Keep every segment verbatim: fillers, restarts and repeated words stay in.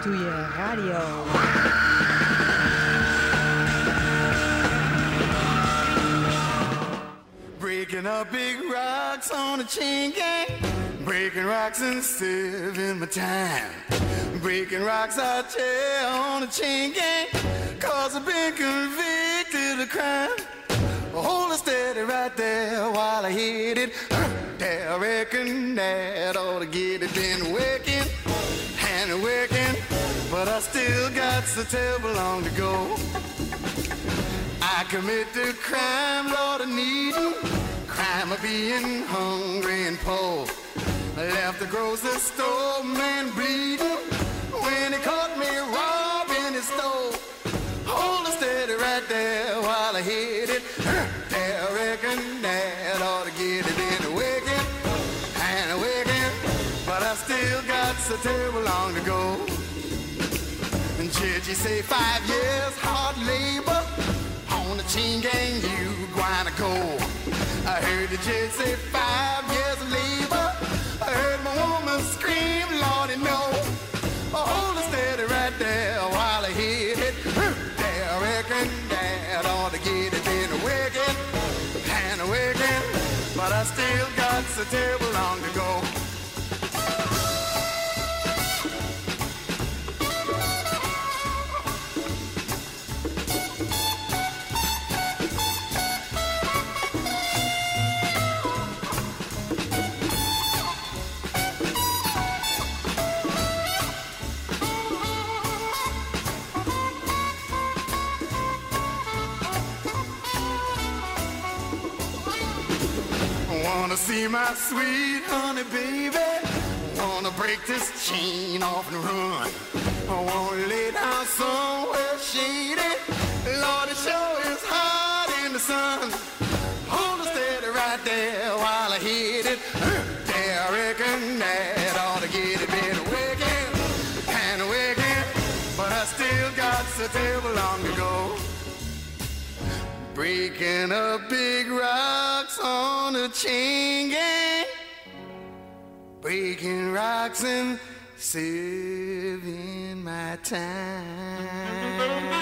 Ratatouille Radio. Breaking up big rocks on a chain gang. Breaking rocks and saving my time. Breaking rocks, I tell, on a chain gang. Cause I've been convicted of crime. Hold it steady right there while I hit it. There, I reckon that ought to get it. Been working and working, but I still got so terrible long to go. I committed crime, Lord, of needing. Crime of being hungry and poor. Left the grocery store, man, bleeding. When he caught me robbing his store. Hold it steady right there while I hit it. There, I reckon that ought to get it. In wicked and wicked, but I still got so terrible long to go. And judge, you say five years hard labor on the chain gang, you gonna go. I heard the judge say five years of labor. I heard my woman scream, Lordy, no. Hold it steady right there while I hit it. There, I reckon that ought to get it. In wicked and wicked, but I still got so terrible long to go. Wanna see my sweet honey baby. Wanna break this chain off and run. I wanna lay down somewhere shady. Lord, it sure is hot in the sun. Hold it steady right there while I hit it. There, I reckon that ought to get it. Been wicked and wicked, but I still got so terrible long to go. Breaking up big rocks on a chain gang. Breaking rocks and saving my time.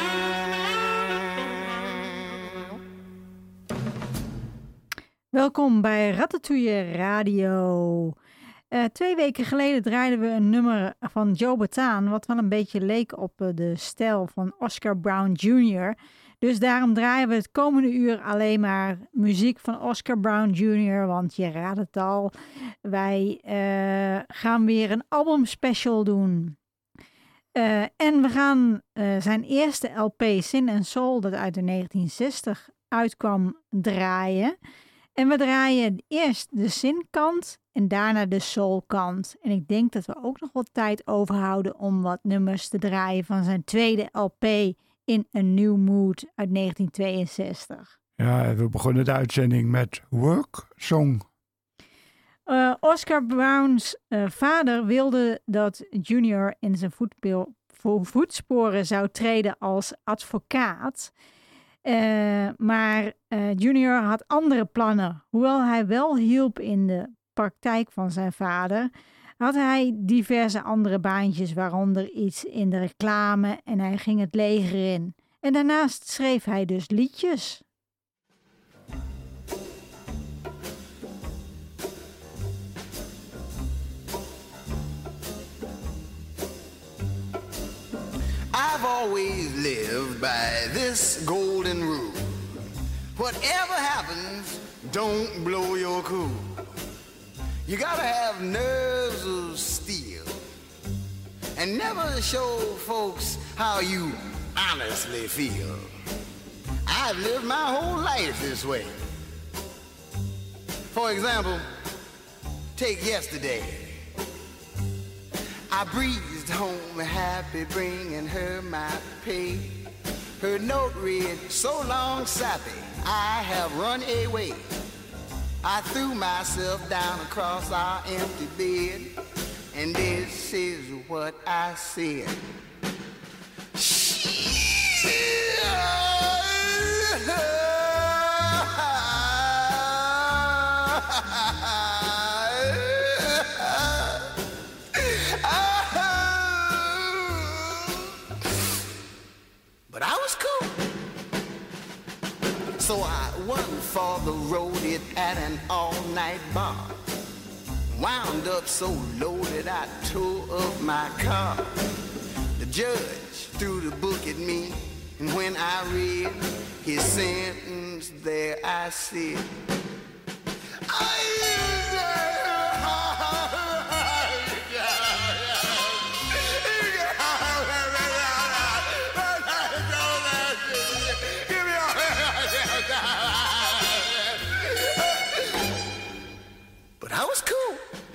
Welkom bij Ratatouille Radio. Uh, twee weken geleden draaiden we een nummer van Joe Bataan, wat wel een beetje leek op uh, de stijl van Oscar Brown junior Dus daarom draaien we het komende uur alleen maar muziek van Oscar Brown junior Want je raadt het al, wij uh, gaan weer een albumspecial doen. Uh, en we gaan uh, zijn eerste L P Sin and Soul, dat uit de negentien zestig uitkwam, draaien. En we draaien eerst de Sin-kant en daarna de Soul-kant. En ik denk dat we ook nog wat tijd overhouden om wat nummers te draaien van zijn tweede L P In A New Mood uit negentien tweeënzestig. Ja, we begonnen de uitzending met Work Song. Uh, Oscar Brown's uh, vader wilde dat Junior in zijn voetpil, vo- voetsporen zou treden als advocaat. Uh, maar uh, Junior had andere plannen. Hoewel hij wel hielp in de praktijk van zijn vader, had hij diverse andere baantjes, waaronder iets in de reclame, en hij ging het leger in. En daarnaast schreef hij dus liedjes. I've always lived by this golden rule. Whatever happens, don't blow your cool. You gotta have nerves of steel and never show folks how you honestly feel. I've lived my whole life this way. For example, take yesterday. I breezed home happy, bringing her my pay. Her note read, so long, sappy, I have run away. I threw myself down across our empty bed, and this is what I said. for the road it at an all-night bar. Wound up so loaded I tore up my car. The judge threw the book at me, and when I read his sentence, there I sit. But I was cool.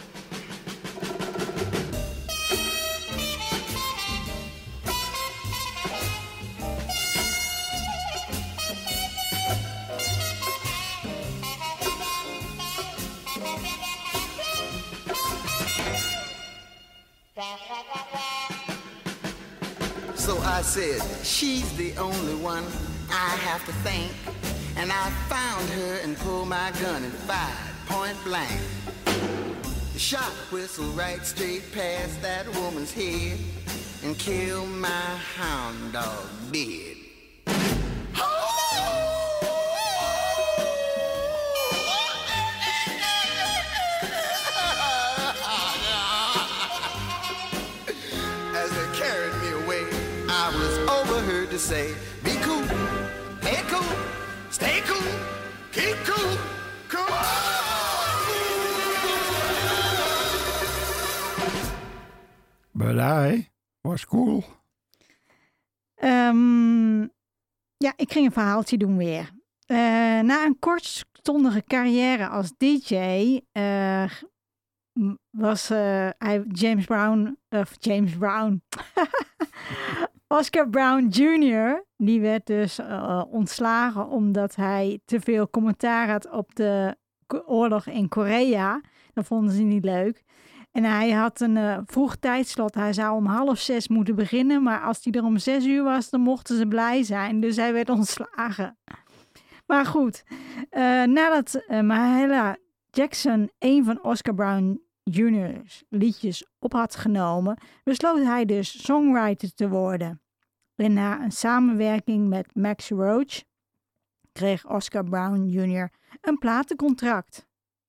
So I said, she's the only one I have to thank. And I found her and pulled my gun and fired point blank. The shot whistled right straight past that woman's head and killed my hound dog dead. As they carried me away, I was overheard to say, be cool, play cool, stay cool, keep cool, cool. But I was cool. Um, ja, ik ging een verhaaltje doen weer. Uh, na een kortstondige carrière als D J uh, was uh, hij James Brown, of James Brown, Oscar Brown junior, die werd dus uh, ontslagen omdat hij te veel commentaar had op de oorlog in Korea. Dat vonden ze niet leuk. En hij had een uh, vroeg tijdslot. Hij zou om half zes moeten beginnen. Maar als hij er om zes uur was, dan mochten ze blij zijn. Dus hij werd ontslagen. Maar goed. Uh, nadat uh, Mahalia Jackson een van Oscar Brown junior's liedjes op had genomen, besloot hij dus songwriter te worden. En na een samenwerking met Max Roach kreeg Oscar Brown junior een platencontract.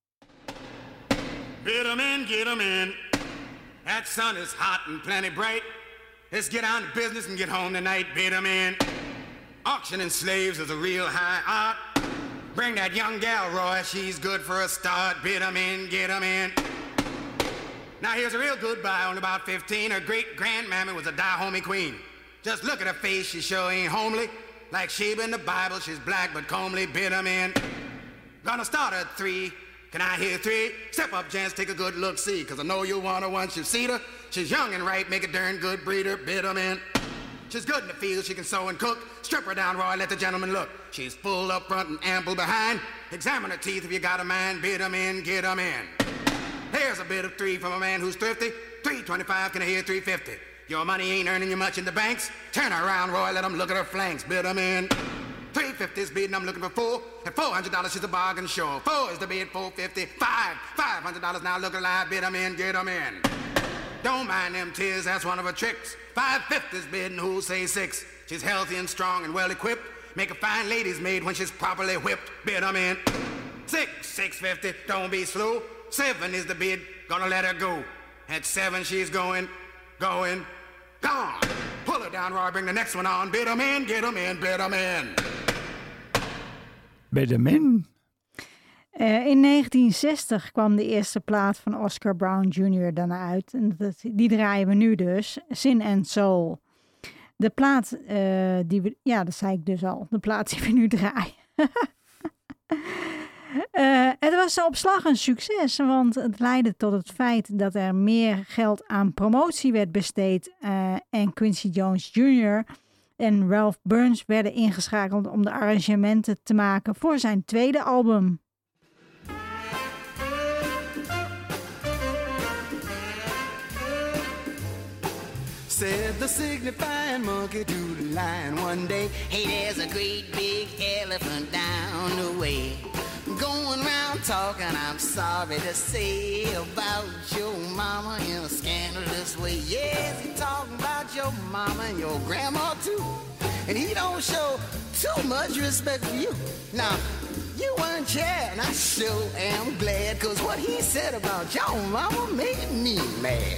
Get 'em in, get 'em in. That sun is hot and plenty bright. Let's get on to business and get home tonight. Bid 'em in. Auctioning slaves is a real high art. Bring that young gal, Roy. She's good for a start. Bid 'em in, get 'em in. Now here's a real good buy, only about fifteen. Her great-grandmammy was a Dahomey queen. Just look at her face, she sure ain't homely. Like Sheba in the Bible, she's black but comely. Bid 'em in. Gonna start at three. Can I hear three? Step up, gents, take a good look, see. Cause I know you'll want her once you've seen her. She's young and right, make a darn good breeder. Bid 'em in. She's good in the field, she can sew and cook. Strip her down, Roy, let the gentleman look. She's full up front and ample behind. Examine her teeth if you got a mind. Bid 'em in, get 'em in. Here's a bid of three from a man who's thrifty. three twenty-five, can I hear three fifty? Your money ain't earning you much in the banks. Turn her around, Roy, let 'em look at her flanks. Bid 'em in. three fifty's bidding, I'm looking for four. At four hundred dollars, she's a bargain sure. Four is the bid, four fifty. Five, five hundred dollars now, look alive, bid 'em in, get 'em in. Don't mind them tears, that's one of her tricks. five fifty's bidding, who'll say six? She's healthy and strong and well equipped. Make a fine lady's maid when she's properly whipped. Bid 'em in. Six, six fifty, don't be slow. Seven is the bid, gonna let her go. At seven, she's going, going, gone. Pull her down, Roy, bring the next one on. Bid 'em in, get 'em in, bid 'em in. Bid 'em in. Uh, in negentien zestig kwam de eerste plaat van Oscar Brown junior dan uit. En dat, die draaien we nu dus. Sin and Soul. De plaat uh, die we... Ja, dat zei ik dus al. De plaat die we nu draaien. uh, het was op slag een succes. Want het leidde tot het feit dat er meer geld aan promotie werd besteed. Uh, en Quincy Jones junior en Ralph Burns werden ingeschakeld om de arrangementen te maken voor zijn tweede album. Said the signifying monkey to the lion one day, hey, there's a great big elephant down the way, going round talking, I'm sorry to say, about your mama in a scandalous way. Yes, he talking about your mama and your grandma too, and he don't show too much respect for you. Now, you weren't here, and I sure am glad, cause what he said about your mama made me mad.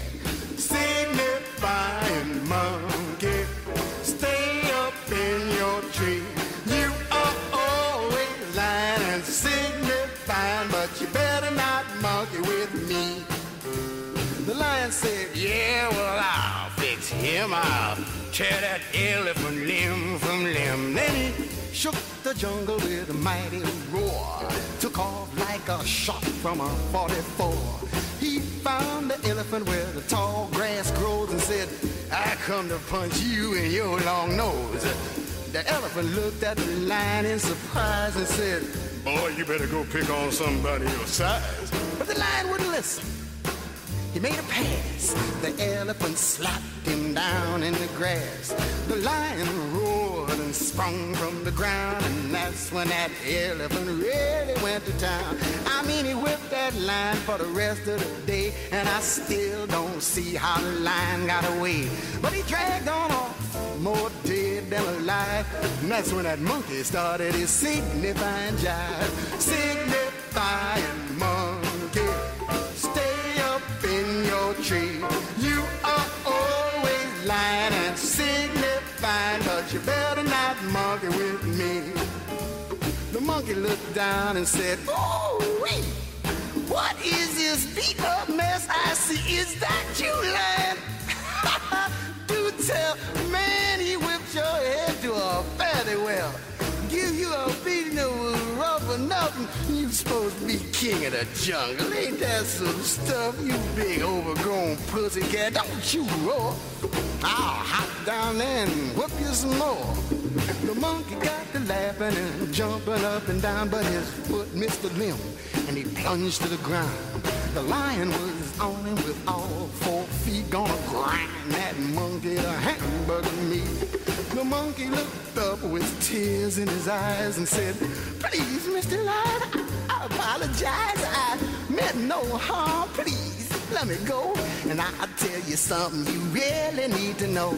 Signifying monkey, stay up in your tree. You are always lying and signifying, but you better not monkey with me. The lion said, yeah, well, I'll fix him. I'll tear that elephant limb from limb. Then he shook the jungle with a mighty roar, took off like a shot from a forty-four. He found the elephant where the tall grass grows and said, I come to punch you in your long nose. The elephant looked at the lion in surprise and said, boy, you better go pick on somebody your size. But the lion wouldn't listen. He made a pass. The elephant slapped him down in the grass. The lion roared and sprung from the ground, and that's when that elephant really went to town. I mean, he whipped that lion for the rest of the day, and I still don't see how the lion got away. But he dragged on off, more dead than alive, and that's when that monkey started his signifying jive. Signifying monkey, stay up in your tree. You are always lying and signifying, but you better not monkey with me. The monkey looked down and said, oh, wait, what is this beat up mess I see? Is that you, lion? Do tell, man, he whipped your head to a fairly well. Give you a beating that was rough enough, and you supposed to be king of the jungle. Ain't that some stuff, you big overgrown pussycat? Don't you roar. I'll hop down there and whoop you some more. The monkey got to laughing and jumping up and down, but his foot missed the limb, and he plunged to the ground. The lion was on him with all four feet, gonna grind that monkey to hamburger meat. The monkey looked up with tears in his eyes and said, please, Mister Lion, I, I apologize. I meant no harm. Please, let me go, and I'll tell you something you really need to know.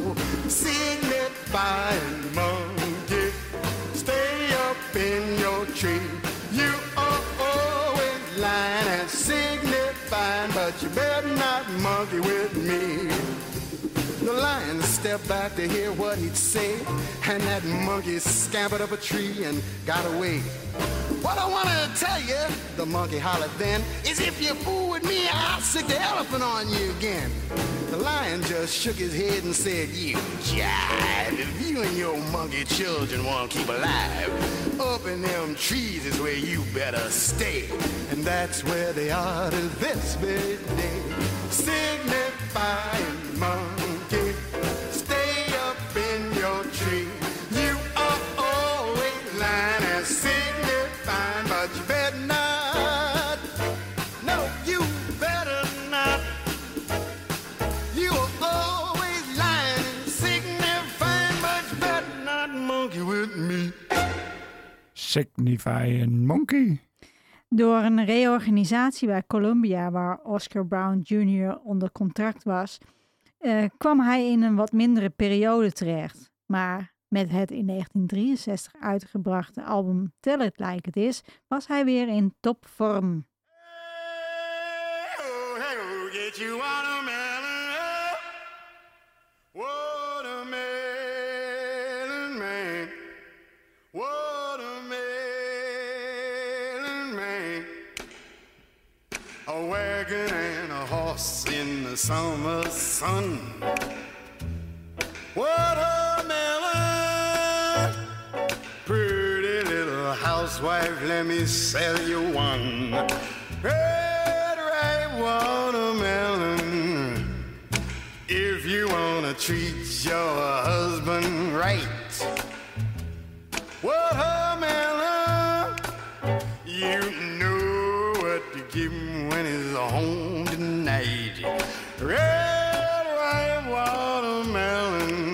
Signifying monkey, stay up in your tree. You are always lying and signifying, but you better not monkey with me. The lion stepped back to hear what he'd say, and that monkey scampered up a tree and got away. What I want to tell you, the monkey hollered then, is if you fool with me, I'll sick the elephant on you again. The lion just shook his head and said, you jive, if you and your monkey children want to keep alive, up in them trees is where you better stay. And that's where they are to this very day. Signifying monkey, stay up in your tree. You are always lying and signifying, but you better not. No, you better not. You are always lying and signifying, but you better not monkey with me. Signifying monkey. Door een reorganisatie bij Columbia, waar Oscar Brown junior onder contract was, uh, kwam hij in een wat mindere periode terecht. Maar met het in negentien drieënzestig uitgebrachte album Tell It Like It Is was hij weer in topvorm. Hey, oh, hey, oh, get you watermelon, oh. Watermelon man, watermelon man. A wagon and a horse in the summer sun. Watermelon, pretty little housewife, let me sell you one. Red, ripe watermelon, if you wanna treat your husband right. Watermelon, you know what to give him when he's home tonight. Red, ripe watermelon.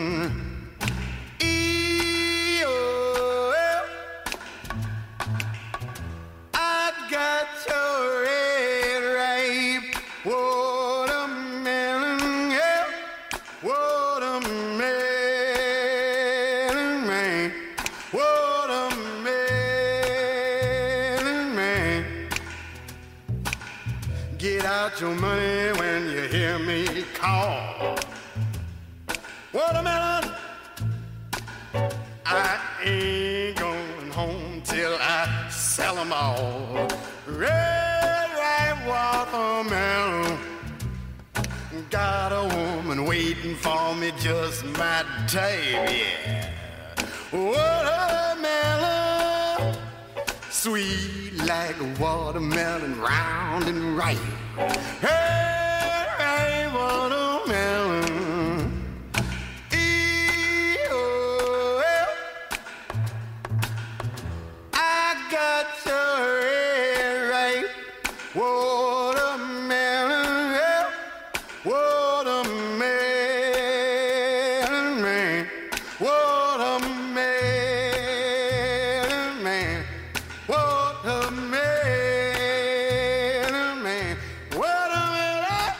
got your money when you hear me call. Watermelon, I ain't going home till I sell them all. Red, ripe watermelon, got a woman waiting for me, just my type, yeah. Watermelon, sweet like a watermelon, round and ripe. Red, ripe watermelon, E-O-L. I got your red, ripe watermelon, yeah. Watermelon man, watermelon man, watermelon man, watermelon,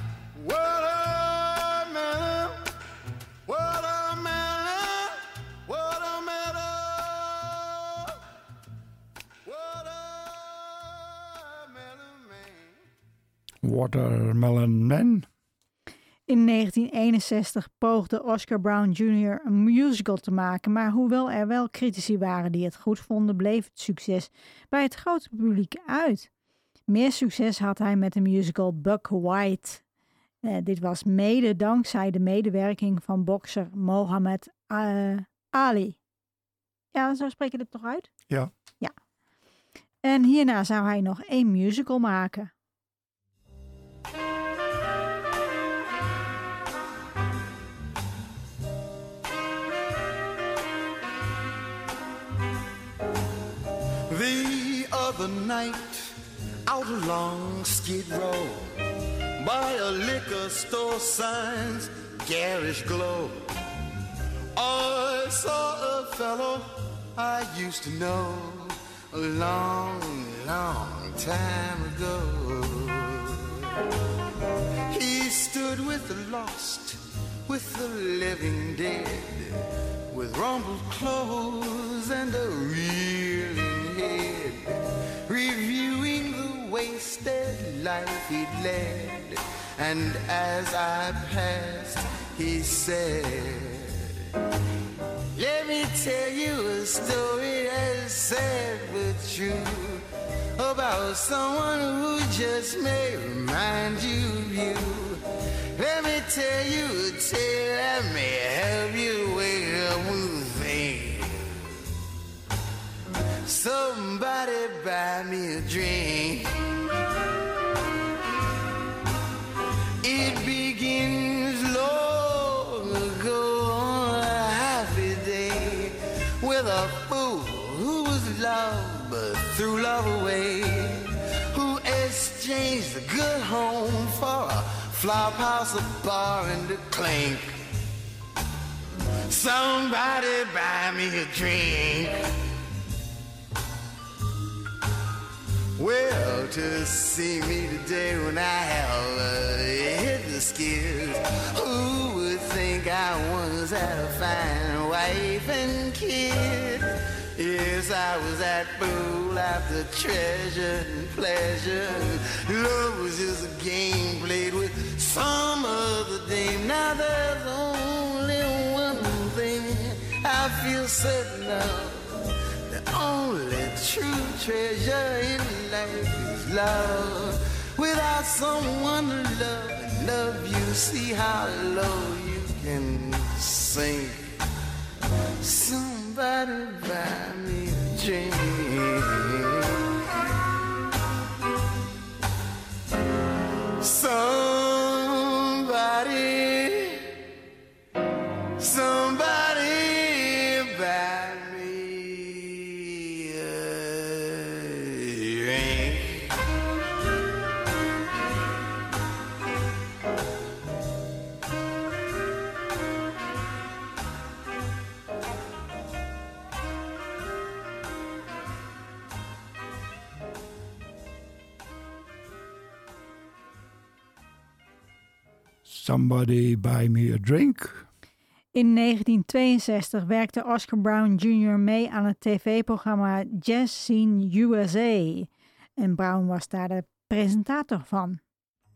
watermelon, watermelon, watermelon, watermelon man. Watermelon Man. In negentien eenenzestig poogde Oscar Brown junior een musical te maken, maar hoewel er wel critici waren die het goed vonden, bleef het succes bij het grote publiek uit. Meer succes had hij met de musical Buck White. Uh, dit was mede dankzij de medewerking van bokser Muhammad uh, Ali. Ja, zo spreek je dit toch uit? Ja. Ja. En hierna zou hij nog één musical maken. The other night, out along Skid Row, by a liquor store sign's garish glow, I saw a fellow I used to know a long, long time ago. He stood with the lost, with the living dead, with rumpled clothes and a reeling head, reviewing the wasted life he'd led. And as I passed, he said, let me tell you a story that's sad but true, about someone who just may remind you of you. Let me tell you a tale that may help you wake up and think. Somebody buy me a drink. It begins long ago on a happy day with a fool who was loved but threw love away, who exchanged a good home for a flop house, a bar, and a clink. Somebody buy me a drink. Well, to see me today when I have uh, hit the skids, who would think I once had a fine wife and kid? Yes, I was that fool after treasure and pleasure. Love was just a game played with some other dame. Now there's only one thing I feel certain of. The only true treasure in life is love. Without someone to love and love you, see how low you can sink. Somebody buy me a drink. Somebody, somebody buy me a drink. Somebody buy me a drink. In negentien tweeënzestig werkte Oscar Brown junior mee aan het tv-programma Jazz Scene U S A. En Brown was daar de presentator van.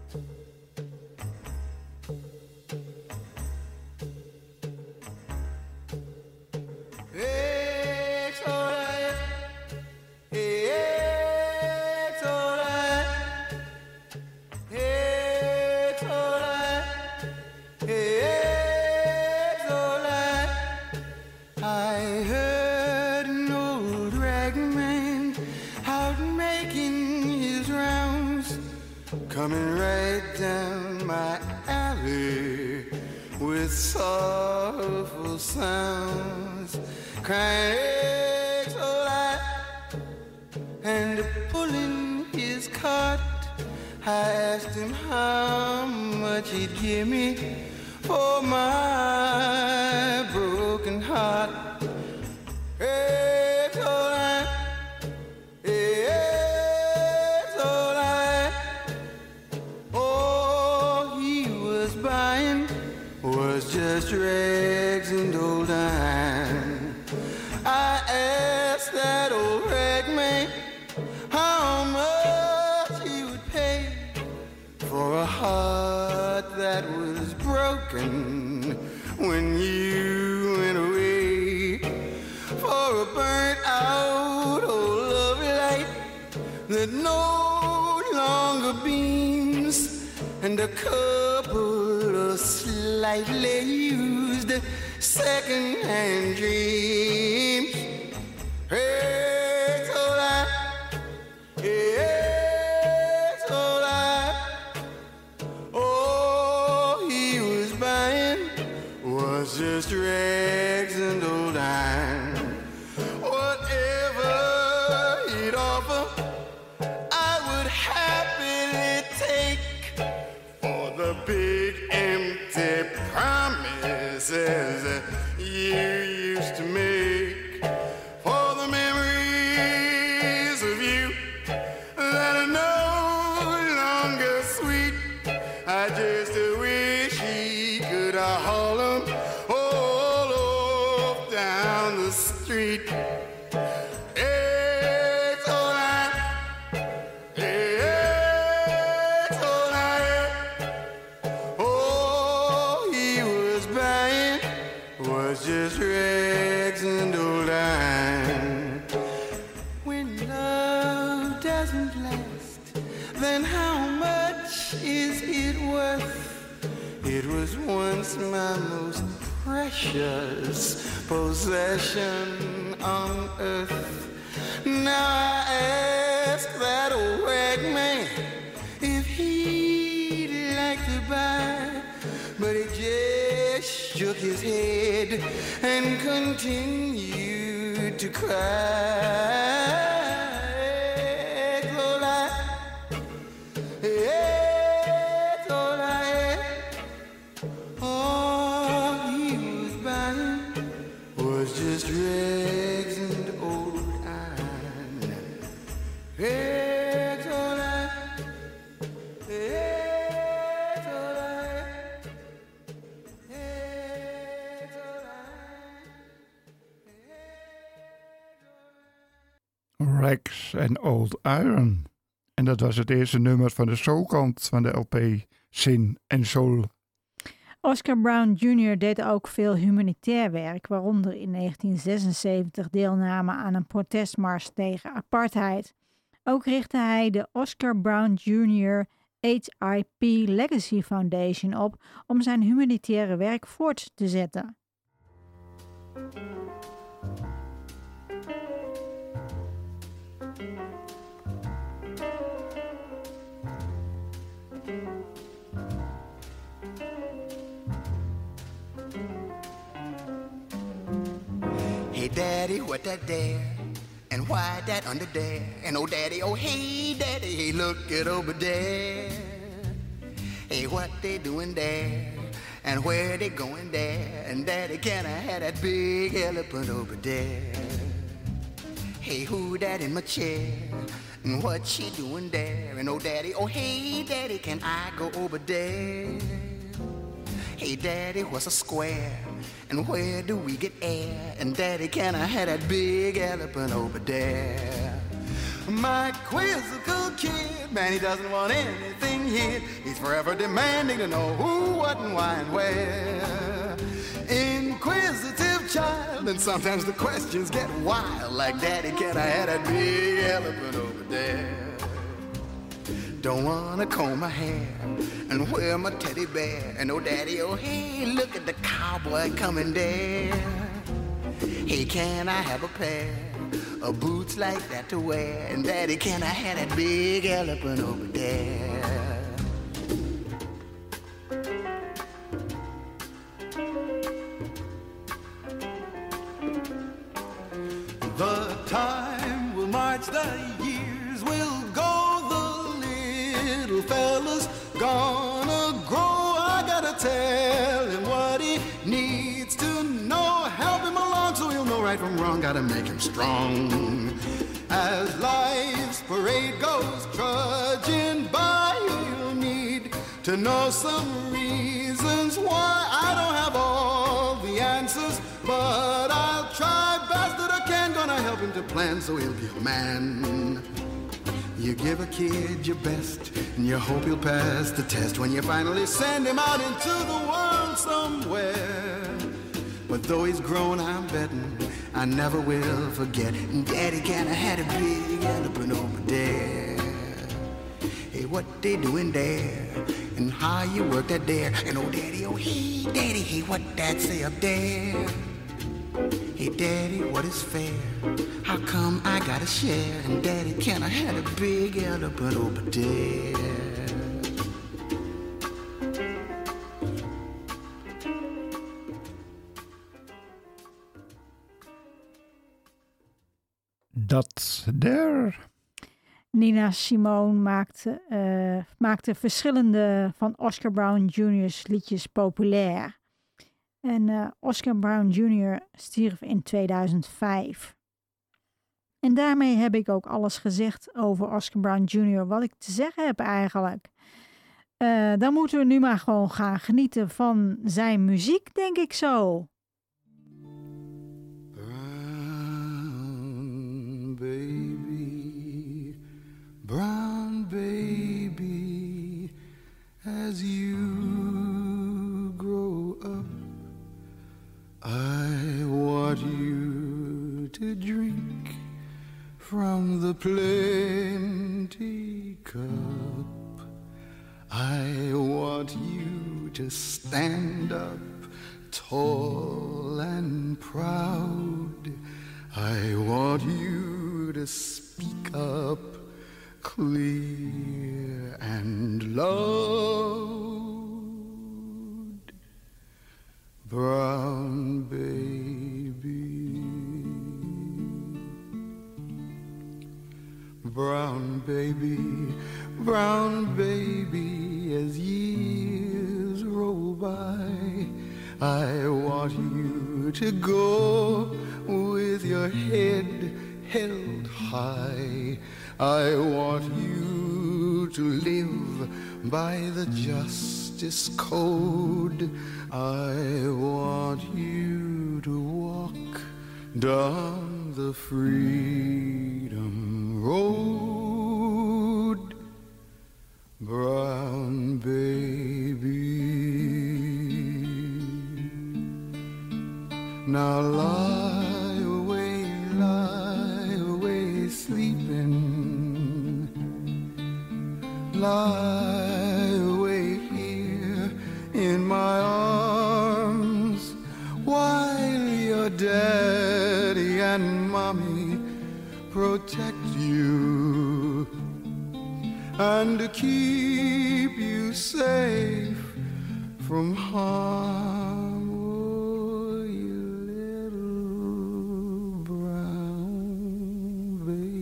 Coming right down my alley with sorrowful sounds, crying so loud and pulling his cart. I asked him how much he'd give me for my broken heart. Hey, so loud, hey, so loud. All he was buying was just rags and old iron. I asked that old rag man how much he would pay for a heart that was broken when you went away, for a burnt out old love light that no longer beams, and a couple of slightly used second-hand dreams. Hey, so loud, hey, so loud. All he was buying was just rags and old iron. Whatever he'd offer, I would happily take for the big empty promises that you used to make, for the memories of you that are no longer sweet. I just wish he could haul them all off down the street. It's all right. It's all right. All he was buying was just rags and old iron. When love doesn't last, then how much is it worth? It was once my most precious possession on earth. Now I ask that old rag man if he'd like to buy, but he just shook his head and continued to cry. It's all right. It's all right. All he was buying was just rags and old iron. It's all right. It's all right. It's all right. Rags and Old Iron. En dat was het eerste nummer van de soulkant van de L P Sin en Soul. Oscar Brown junior deed ook veel humanitair werk, waaronder in negentien zesenzeventig deelname aan een protestmars tegen apartheid. Ook richtte hij de Oscar Brown junior H I P Legacy Foundation op om zijn humanitaire werk voort te zetten. Hey daddy, what that there? And why that under there? And oh daddy, oh hey daddy, hey look it over there. Hey, what they doing there? And where they going there? And daddy, can I have that big elephant over there? Hey, who that in my chair? And what she doing there? And oh daddy, oh hey daddy, can I go over there? Hey daddy, what's a square? And where do we get air? And daddy, can I have that big elephant over there? My quizzical kid, man, he doesn't want anything hid. He's forever demanding to know who, what, and why, and where. Inquisitive child, and sometimes the questions get wild. Like, Daddy, can I have that big elephant over there? Don't wanna comb my hair and wear my teddy bear. And oh, Daddy, oh, hey, look at the cowboy coming there. Hey, can I have a pair of boots like that to wear? And Daddy, can I have that big elephant over there? The time will march, the years will go, the little fella's gonna grow. I gotta tell him what he needs to know. Help him along so he'll know right from wrong. Gotta make him strong. As life's parade goes trudging by, he'll need to know some reasons why. I don't have all the answers, but I'll try best that I can. Gonna help him to plan so he'll be a man. You give a kid your best, and you hope he'll pass the test when you finally send him out into the world somewhere. But though he's grown, I'm betting I never will forget. Daddy, can I had a big elephant over there? Hey, what they doing there? And how you work that there? And oh, Daddy, oh, hey, Daddy, hey, what that say up there? Hey, Daddy, what is fair? How come I gotta share? And Daddy, can I have a big elephant over there? Dat daar. Nina Simone maakte, uh, maakte verschillende van Oscar Brown junior's liedjes populair. En uh, Oscar Brown junior stierf in tweeduizend vijf. En daarmee heb ik ook alles gezegd over Oscar Brown junior wat ik te zeggen heb eigenlijk. Uh, dan moeten we nu maar gewoon gaan genieten van zijn muziek, denk ik zo. Brown baby, brown baby, as you grow up, I want you to drink from the plenty cup. I want you to stand up tall and proud. I want you to speak up clear and loud. Brown baby, brown baby, brown baby, as years roll by, I want you to go with your head held high. I want you to live by the justice code. I want you to walk down the freedom road. Brown baby, now lie away, lie away sleeping. Lie away here in my arms while your daddy and mommy protect you and to keep you safe from harm. Oh, you little brown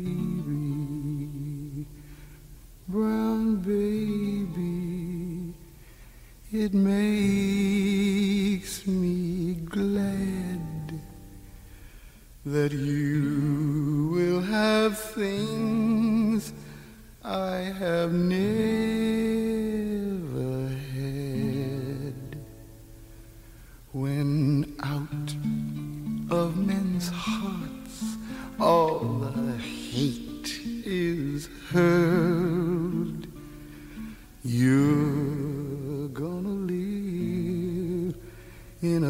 baby, brown baby, it makes me glad that you will have things I have never had. When out of men's hearts all the hate is heard,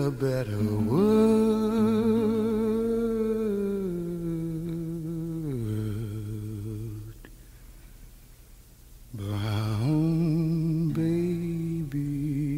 a better world. Brown baby.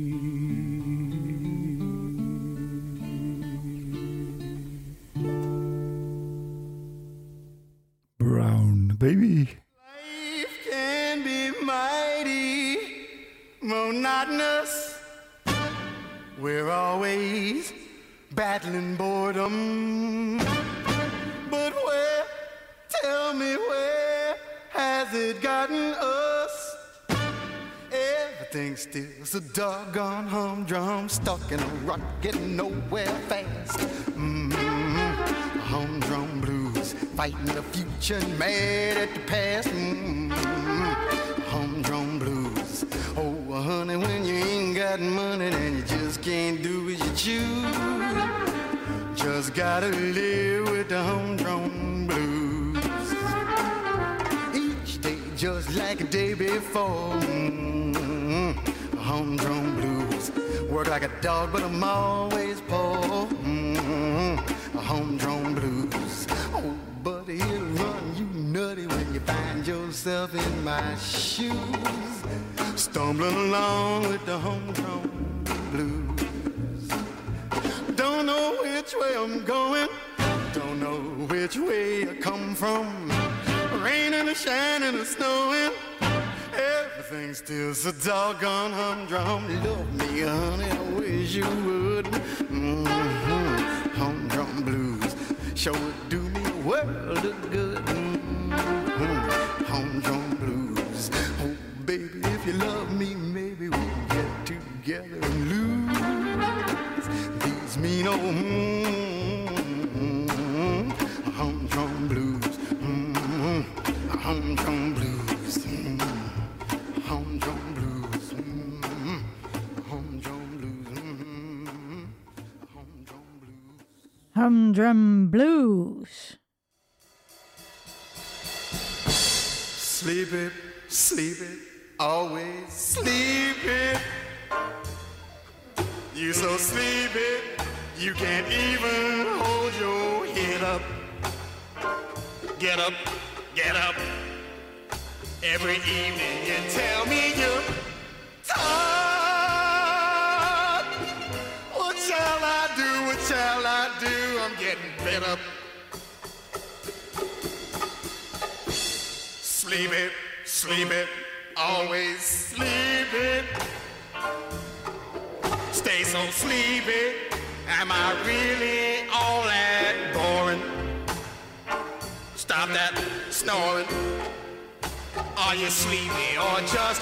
Brown baby. Life can be mighty monotonous. We're always battling boredom. But where, tell me where has it gotten us? Everything's still so doggone humdrum, stuck in a rut, getting nowhere fast. Mm-hmm. Humdrum blues, fighting the future, mad at the past. Mm-hmm. Humdrum blues. Oh, honey, when you ain't got money, then you just can't do as you choose. Just gotta live with the humdrum blues. Each day just like a day before. Mm-hmm. Humdrum blues. Work like a dog, but I'm always poor. Mm-hmm. Humdrum blues. Oh, but it'll run you nutty when you find yourself in my shoes, stumbling along with the humdrum blues. Don't know which way I'm going, don't know which way I come from. Raining or shining or snowing, everything's still so doggone humdrum. Love me, honey, I wish you would. Mm-hmm. Humdrum blues sure would do me a world of good. Mm-hmm. Humdrum blues. Oh, baby, if you love me, maybe we can get together and lose these mean old mm-hmm. humdrum blues. Mm-hmm. Humdrum blues. Mm-hmm. Humdrum blues. Mm-hmm. Humdrum blues. Mm-hmm. Humdrum blues. Humdrum blues. Sleep it, sleep it, always sleep it. You so sleepy, you can't even hold your head up. Get up, get up. Every evening you tell me you're tired. What shall I do, what shall I do? I'm getting fed up. Sleep it, sleep it, always sleep it. Stay so sleepy, am I really all that boring? Stop that snoring. Are you sleepy or just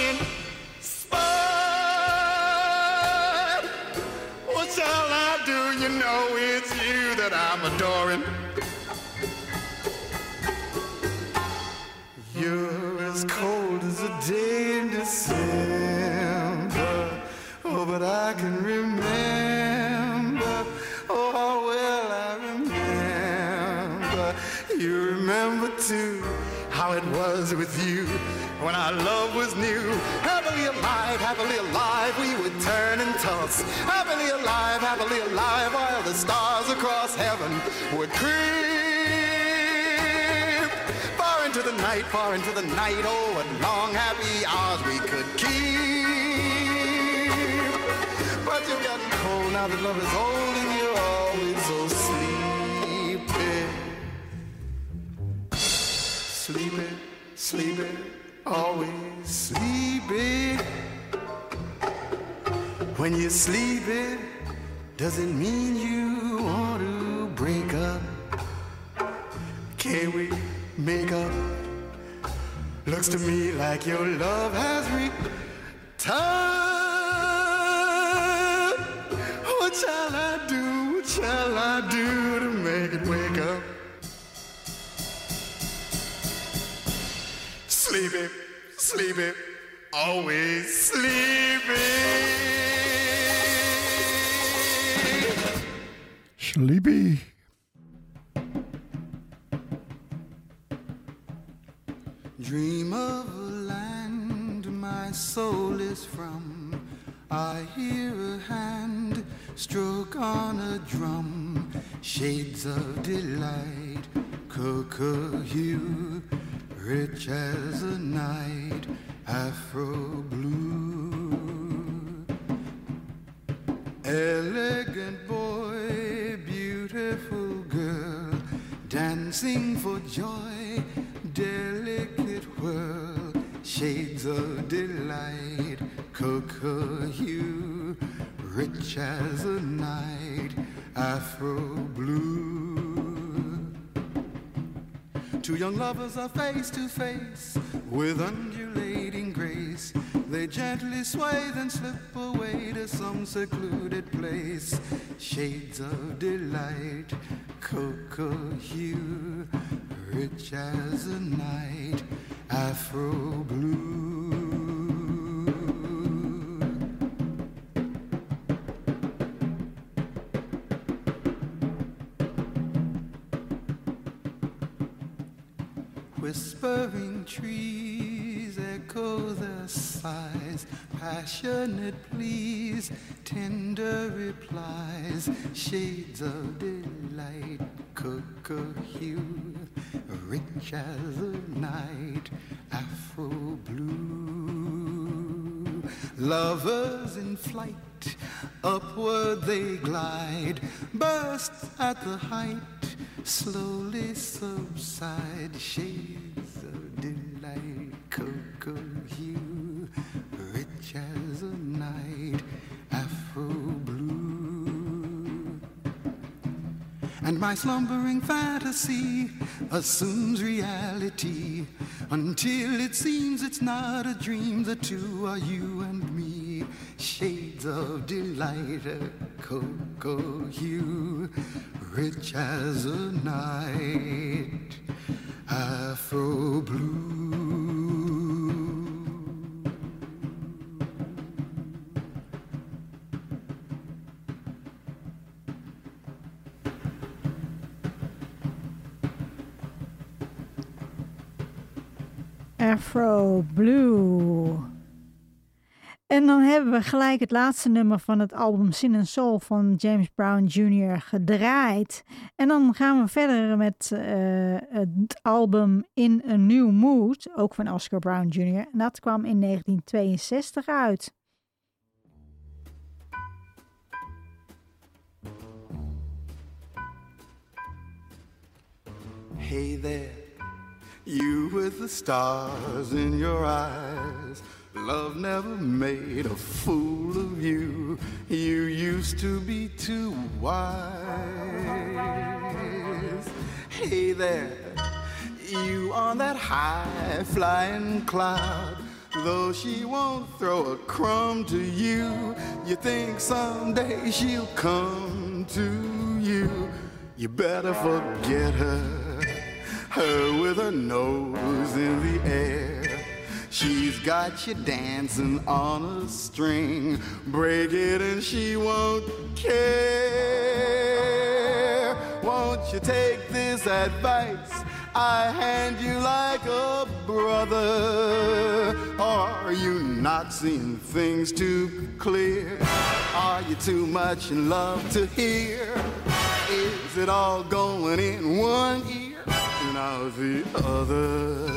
uninspired? What shall I do? You know it's you that I'm adoring. You're as cold as a day in December. Oh, but I can remember. Oh, how well I remember. You remember too how it was with you when our love was new. Happily alive, happily alive, we would turn and toss. Happily alive, happily alive, while the stars across heaven would creep. Far into the night, far into the night, oh, what long happy hours we could keep. But you've gotten cold now that love is old and you're always so sleepy. Sleepy, sleepy, always sleepy. When you're sleepy, does it mean you want to break up? Can we make up? Looks to me like your love has returned. What shall I do? What shall I do to make it wake up? Sleepy, sleepy, always sleepy. Sleepy. Dream of a land my soul is from. I hear a hand stroke on a drum, shades of delight, cocoa hue, rich as a night, afro blue. Elegant boy, beautiful girl, dancing for joy, delicate whirl, shades of delight, cocoa hue, rich as a night, afro blue. Two young lovers are face to face, with undulating grace. They gently sway, then slip away to some secluded place. Shades of delight, cocoa hue, rich as a night, afro blue. Whispering trees echo their sighs, passionate pleas, tender replies, shades of delight, cocoa hue, rich as a night, afro blue. Lovers in flight, upward they glide, burst at the height, slowly subside, shades of delight, cocoa hue, rich as a night, afro blue. And my slumbering fantasy assumes reality, until it seems it's not a dream. The two are you and me, shades of delight, cocoa hue, rich as a night, afro blue. Afro Blue. En dan hebben we gelijk het laatste nummer van het album Sin and Soul van James Brown junior gedraaid. En dan gaan we verder met uh, het album In a New Mood, ook van Oscar Brown junior En dat kwam in negentien tweeënzestig uit. Hey there, you with the stars in your eyes. Love never made a fool of you. You used to be too wise. Hey there, you on that high flying cloud. Though she won't throw a crumb to you, you think someday she'll come to you. You better forget her, her with her nose in the air. She's got you dancing on a string. Break it and she won't care. Won't you take this advice I hand you like a brother? Or are you not seeing things too clear? Are you too much in love to hear? Is it all going in one ear and out the other?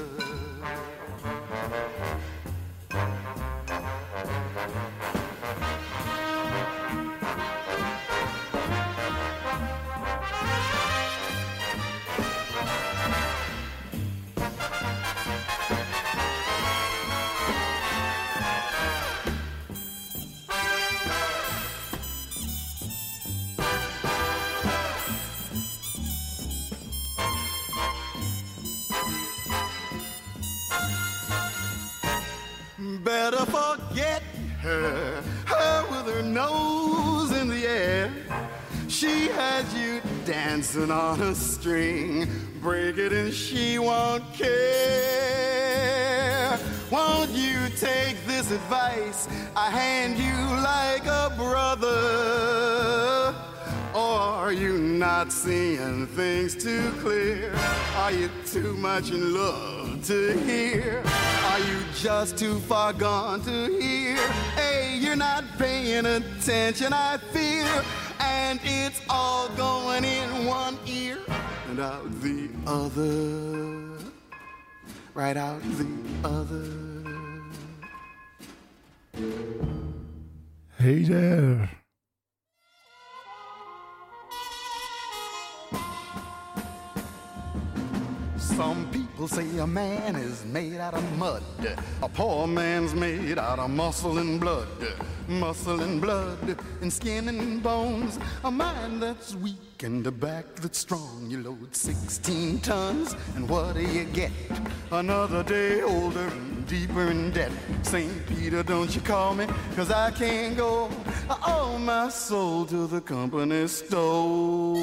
Better forget her, her with her nose in the air. She has you dancing on a string. Break it and she won't care. Won't you take this advice I hand you like a brother? Or are you not seeing things too clear? Are you too much in love to hear? Are you just too far gone to hear? Hey, you're not paying inattention I fear, and it's all going in one ear and out the other, right out the other. Hey there. Some people say a man is made out of mud. A poor man's made out of muscle and blood. Muscle and blood and skin and bones. A mind that's weak and a back that's strong. You load sixteen tons and what do you get? Another day older and deeper in debt. Saint Peter, don't you call me, cause I can't go. I owe my soul to the company store.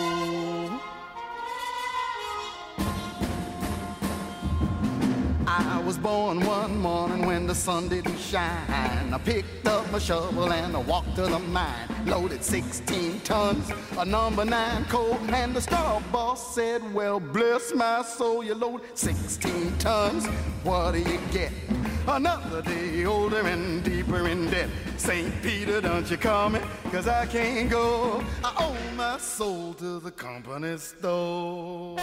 I was born one morning when the sun didn't shine. I picked up my shovel and I walked to the mine. Loaded sixteen tons of number nine coal. And the straw boss said, well, bless my soul, you load sixteen tons. What do you get? Another day older and deeper in debt. Saint Peter, don't you call me, cause I can't go. I owe my soul to the company store.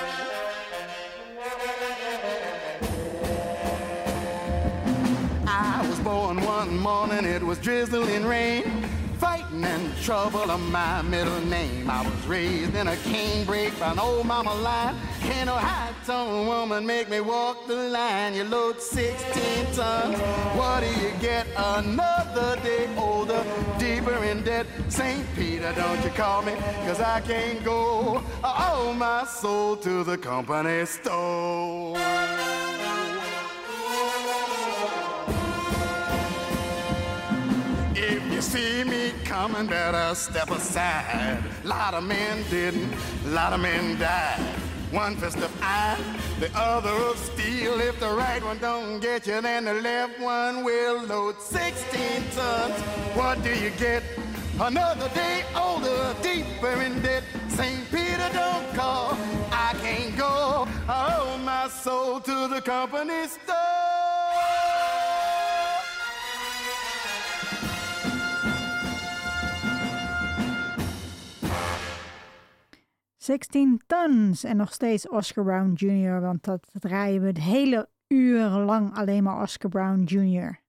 I was born one morning, it was drizzling rain. Fighting and trouble are my middle name. I was raised in a canebrake by an old mama line. Can't no high-tone woman make me walk the line. You load sixteen tons, what do you get? Another day older, deeper in debt. Saint Peter, don't you call me, cause I can't go. I owe my soul to the company store. If you see me coming, better step aside. Lot of men didn't, lot of men died. One fist of iron, the other of steel. If the right one don't get you, then the left one will load sixteen tons. What do you get? Another day older, deeper in debt. Saint Peter, don't call, I can't go. I owe my soul to the company store. zestien tons en nog steeds Oscar Brown junior, want dat, dat draaien we het hele uur lang alleen maar Oscar Brown junior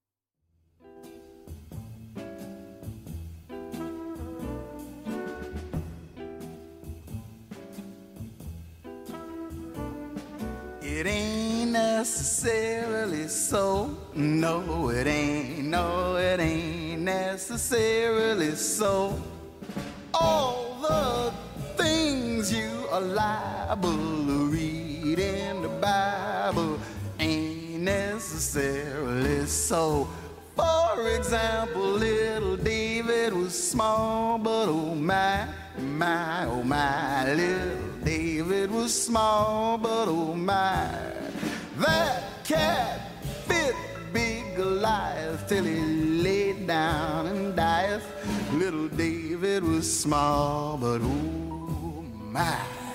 It ain't necessarily so. No, it ain't. No, it ain't necessarily so. All the things you are liable to read in the Bible ain't necessarily so. For example, little David was small, but oh my, my, oh my. Little David was small, but oh my. That cat fit big Goliath till he laid down and died. Little David was small, but oh my.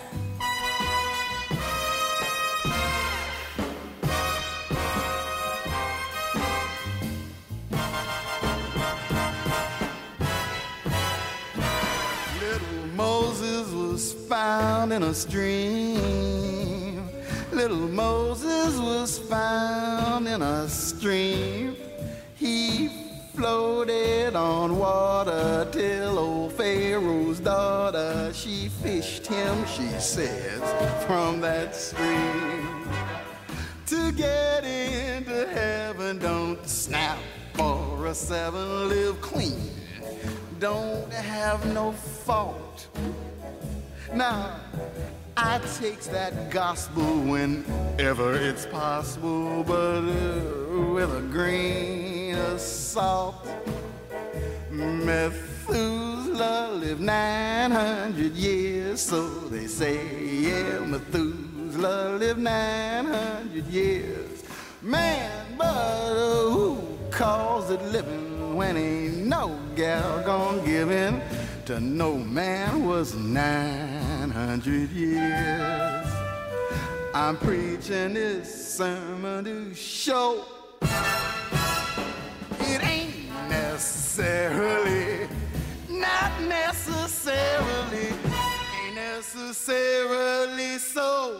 Little Moses was found in a stream. Little Moses was found in a stream. He floated on water till old Pharaoh's daughter, she fished him, she says, from that stream. To get into heaven, don't snap for a seven, live clean, don't have no fault. Now, I takes that gospel whenever it's possible, but uh, with a grain of salt. Methuselah lived nine hundred years, so they say, yeah, Methuselah lived nine hundred years. Man, but uh, who calls it living when ain't no gal gonna give in to no man was nine hundred years. I'm preaching this sermon to show it ain't necessary necessarily so.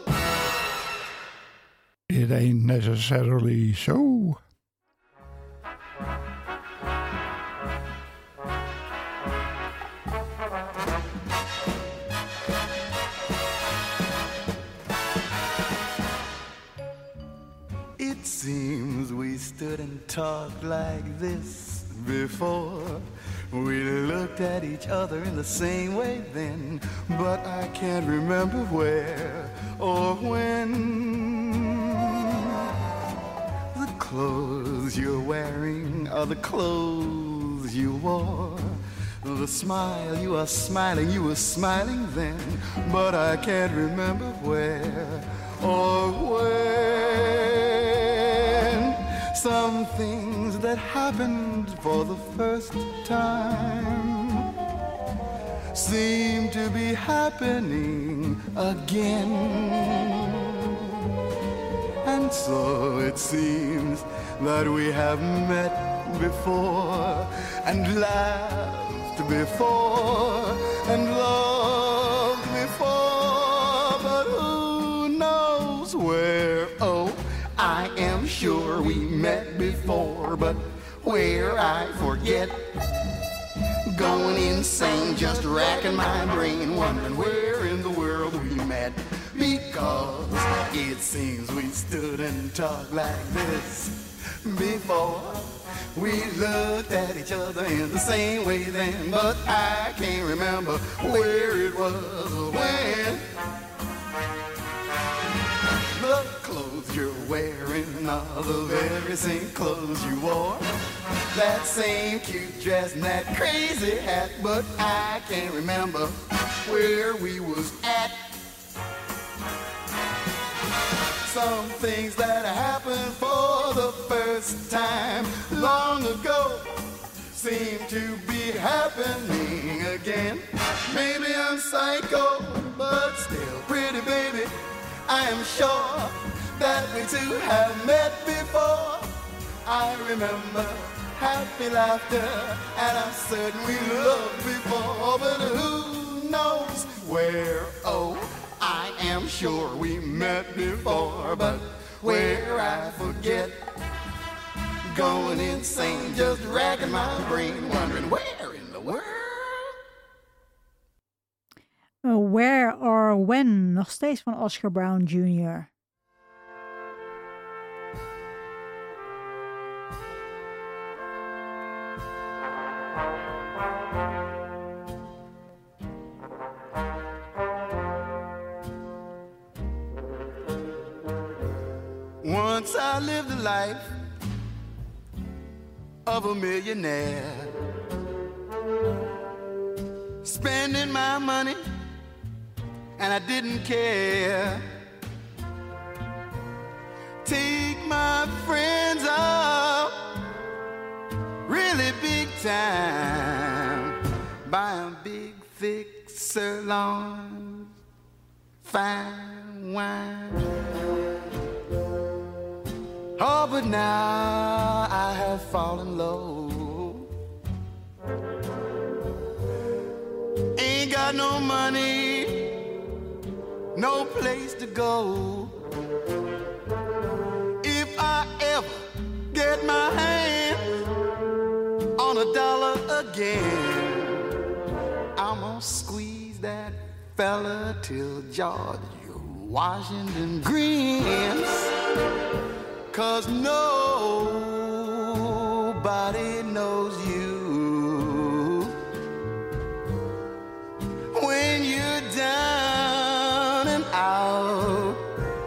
It ain't necessarily so. It seems we stood and talked like this before. We looked at each other in the same way then, but I can't remember where or when. The clothes you're wearing are the clothes you wore. The smile you are smiling, you were smiling then, but I can't remember where or when. Some things that happened for the first time seem to be happening again. And so it seems that we have met before and laughed before and loved before, but who knows where? Oh, I am sure we met before, but where I forget. Going insane, just racking my brain, wondering where in the world we met. Because it seems we stood and talked like this before. We looked at each other in the same way then, but I can't remember where it was or when. The clothes you're wearing are the very same clothes you wore. That same cute dress and that crazy hat, but I can't remember where we was at. Some things that happened for the first time long ago seem to be happening again. Maybe I'm psycho, but still pretty baby, I am sure that we two have met before. I remember happy laughter, and I'm certain we loved before, but who knows where? Oh, I am sure we met before, but where I forget. Going insane, just racking my brain, wondering where in the world. Where or When, nog steeds van Oscar Brown junior Once I lived a life of a millionaire, spending my money and I didn't care. Take my friends out really big time, buying big thick sirloin, fine wine. Oh, but now I have fallen low. Ain't got no money, no place to go. If I ever get my hands on a dollar again, I'm gonna squeeze that fella till George Washington grins. 'Cause nobody knows you when you're down and out.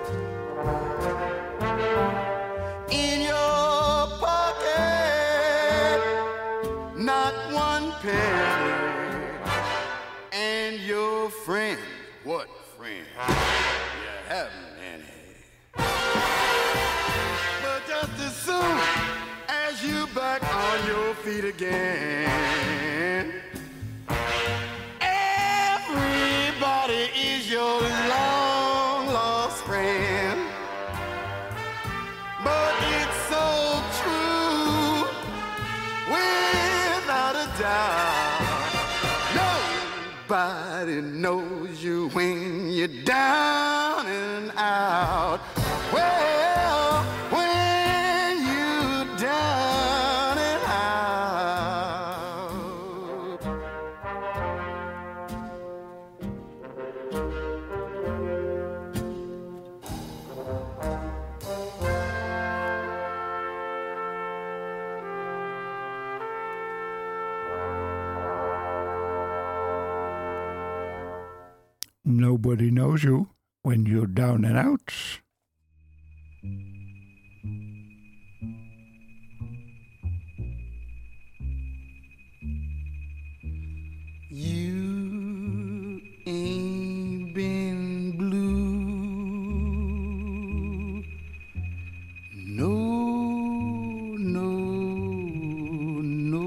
In your pocket, not one penny. And your friend, what friend? You haven't any. Just as soon as you back on your feet again, everybody is your long lost friend. But it's so true, without a doubt, Everybody knows you when you're down and out. Well, when you're down and out. Nobody knows you when you're down and out. You ain't been blue. No, no, no.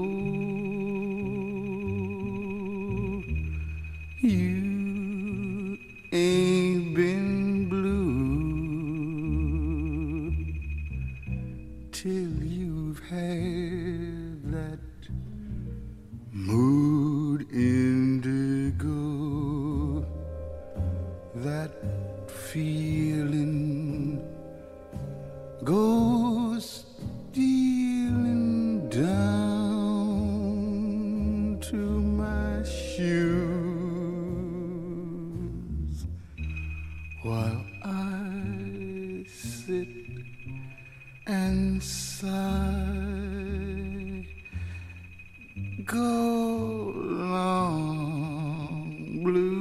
You ain't been blue till you've had that mood indigo, that feeling goes stealing down to my shoes while I sit and sigh. Go long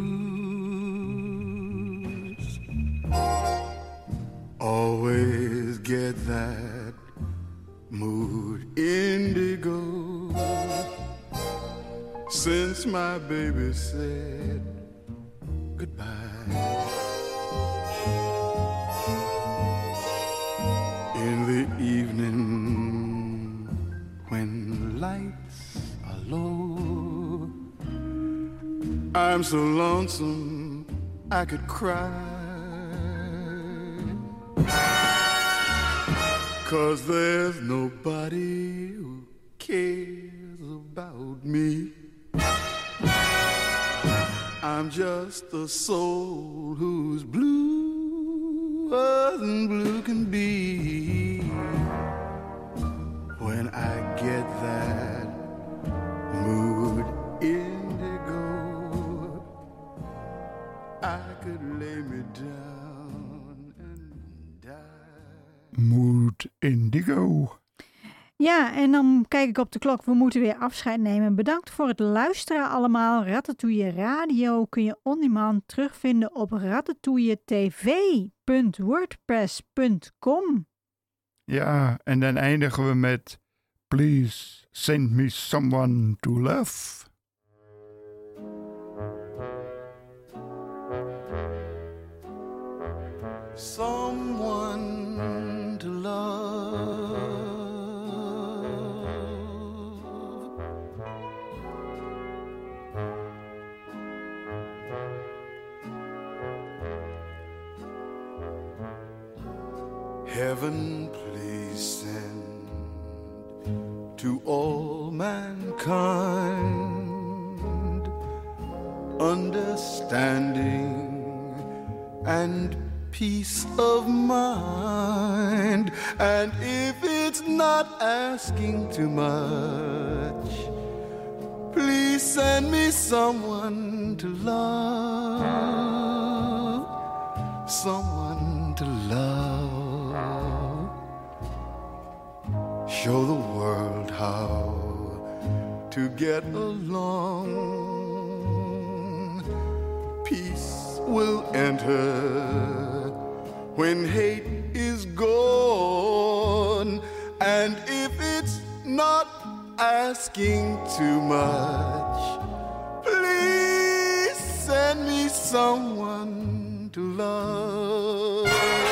blues. Always get that mood indigo since my baby said goodbye. In the evening when lights are low, I'm so lonesome I could cry, 'cause there's nobody who cares about me. I'm just a soul who's bluer than blue can be. When I get that mood indigo, I could lay me down and die. Mood indigo. Ja, en dan kijk ik op de klok. We moeten weer afscheid nemen. Bedankt voor het luisteren allemaal. Ratatouille Radio kun je on demand terugvinden op ratatouilletv punt wordpress punt com. Ja, en dan eindigen we met Please send me someone to love. Someone to love. Heaven, please send to all mankind understanding and peace of mind. And if it's not asking too much, please send me someone to love, someone to love. Show the world how to get along. Peace will enter when hate is gone. And if it's not asking too much, please send me someone to love.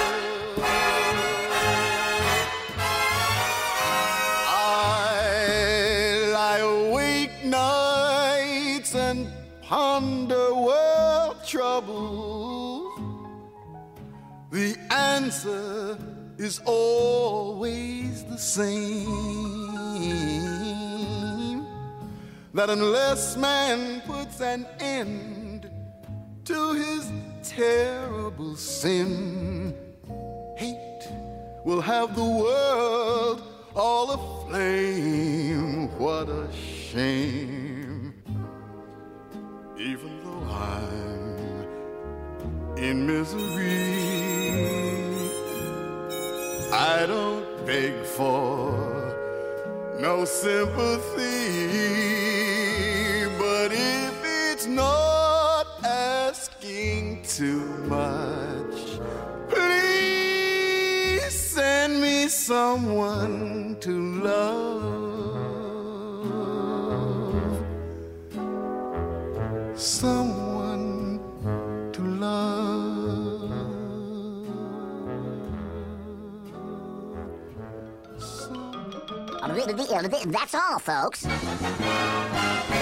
Ponder world troubles, the answer is always the same. that unless man puts an end to his terrible sin, hate will have the world all aflame. What a shame. Even though I'm in misery, I don't beg for no sympathy. But if it's not asking too much, please send me someone to love, someone to love, someone. That's all, folks.